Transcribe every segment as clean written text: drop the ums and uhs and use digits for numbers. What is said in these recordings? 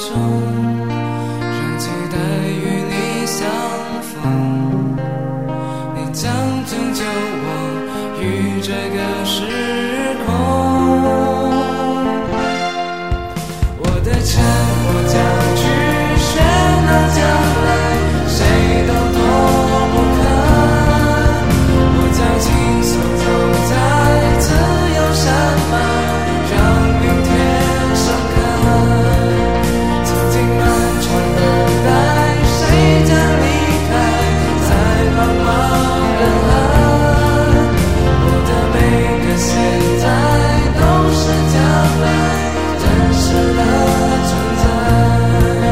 让期待与你相逢，你将拯救我于这个时空。我的沉默将去喧闹将来，谁都躲不开。我将轻松走在自由山脉，让明天盛开。曾经漫长的待，谁将离开在茫茫人海。我的每个现在都是将来真实的存在。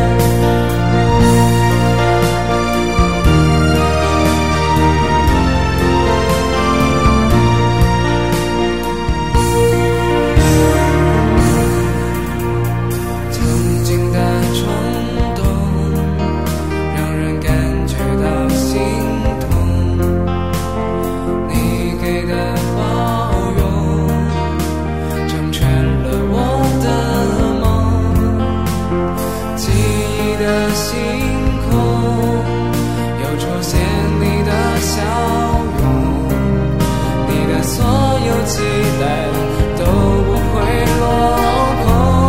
曾经的冲动让人感觉到心痛，你给的包容成全了我的梦。记忆的星空又出现你的笑容，你的所有期待都不会落空。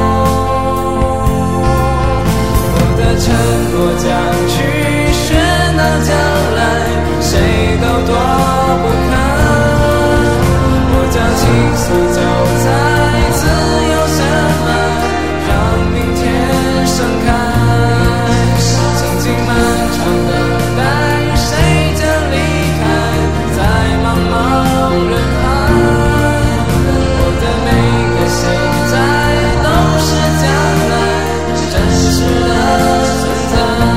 我的沉默将去喧闹将来，谁都躲不开。我将轻松走在自由山脉，让明天盛开。曾经漫长的待，谁将离开在茫茫人海。我的每个现在都是将来真实的存在。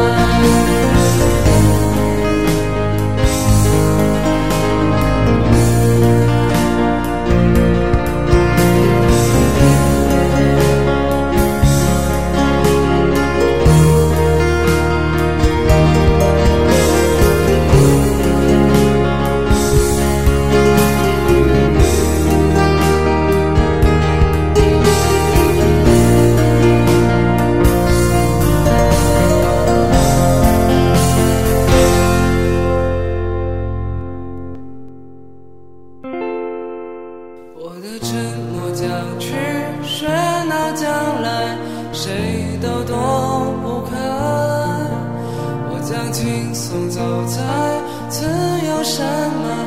我的沉默将去喧闹将来，谁都躲不开。我将轻松走在自由山脉，